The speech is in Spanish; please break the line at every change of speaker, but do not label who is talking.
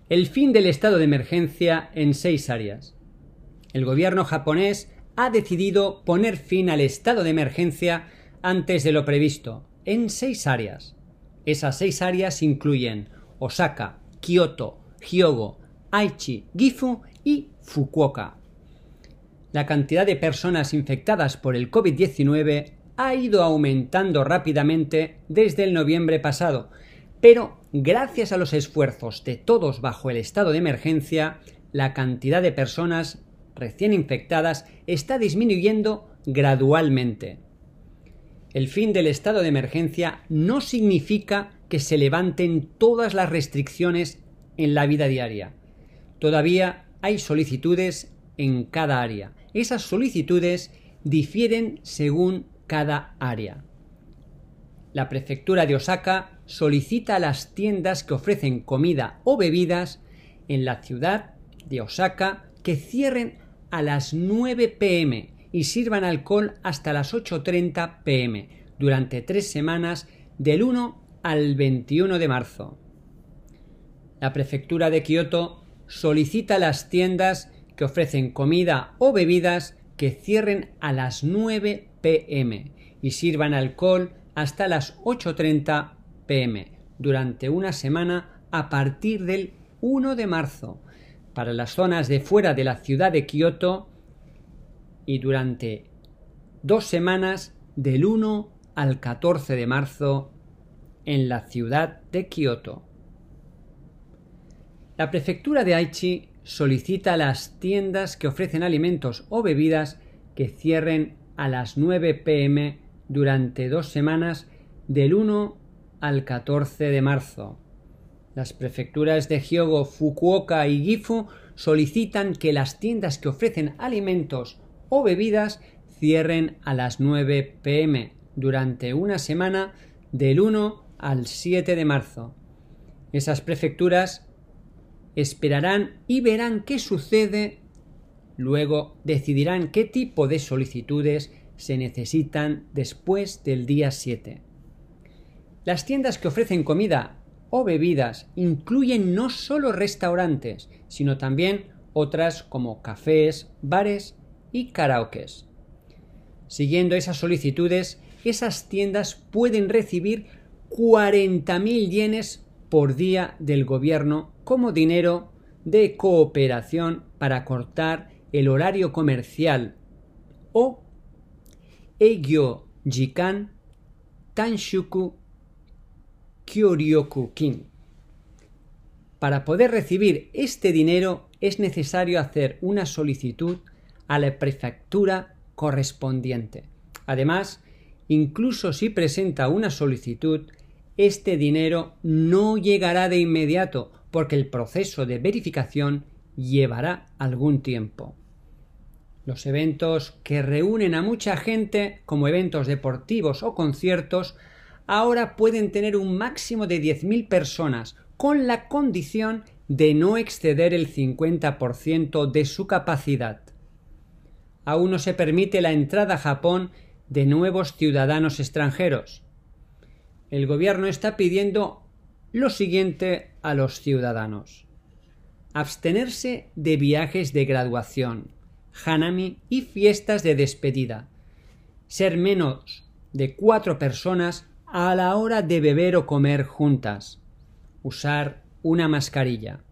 el fin del estado de emergencia en 6 áreas. El gobierno japonés ha decidido poner fin al estado de emergencia antes de lo previsto, en 6 áreas. Esas 6 áreas incluyen Osaka, Kioto, Hyogo, Aichi, Gifu y Fukuoka. La cantidad de personas infectadas por el COVID-19 ha ido aumentando rápidamente desde el noviembre pasado, pero gracias a los esfuerzos de todos bajo el estado de emergencia, la cantidad de personas recién infectadas está disminuyendo gradualmente. El fin del estado de emergencia no significa que se levanten todas las restricciones en la vida diaria. Todavía hay solicitudes en cada área. Esas solicitudes difieren según cada área. La prefectura de Osaka solicita a las tiendas que ofrecen comida o bebidas en la ciudad de Osaka que cierren a las 9 p.m. y sirvan alcohol hasta las 8:30 p.m. durante 3 semanas del 1 al 21 de marzo. La prefectura de Kioto solicita a las tiendas que ofrecen comida o bebidas que cierren a las 9 p.m. y sirvan alcohol hasta las 8:30 p.m. durante una semana a partir del 1 de marzo para las zonas de fuera de la ciudad de Kioto y durante 2 semanas del 1 al 14 de marzo en la ciudad de Kioto. La prefectura de Aichi solicita a las tiendas que ofrecen alimentos o bebidas que cierren a las 9 p.m. durante 2 semanas del 1 al 14 de marzo. Las prefecturas de Hyogo, Fukuoka y Gifu solicitan que las tiendas que ofrecen alimentos o bebidas cierren a las 9 p.m. durante una semana del 1 al 7 de marzo. Esas prefecturas esperarán y verán qué sucede, luego decidirán qué tipo de solicitudes se necesitan después del día 7. Las tiendas que ofrecen comida o bebidas incluyen no solo restaurantes, sino también otras como cafés, bares y karaokes. Siguiendo esas solicitudes, esas tiendas pueden recibir 40.000 yenes por día del gobierno como dinero de cooperación para cortar el horario comercial o Eigyo Jikan Tanshuku Kyoryoku-kin. Para poder recibir este dinero es necesario hacer una solicitud a la prefectura correspondiente. Además, incluso si presenta una solicitud, este dinero no llegará de inmediato porque el proceso de verificación llevará algún tiempo. Los eventos que reúnen a mucha gente, como eventos deportivos o conciertos, ahora pueden tener un máximo de 10.000 personas, con la condición de no exceder el 50% de su capacidad. Aún no se permite la entrada a Japón de nuevos ciudadanos extranjeros. El gobierno está pidiendo lo siguiente a los ciudadanos: abstenerse de viajes de graduación, hanami y fiestas de despedida, ser menos de 4 personas a la hora de beber o comer juntas, usar una mascarilla.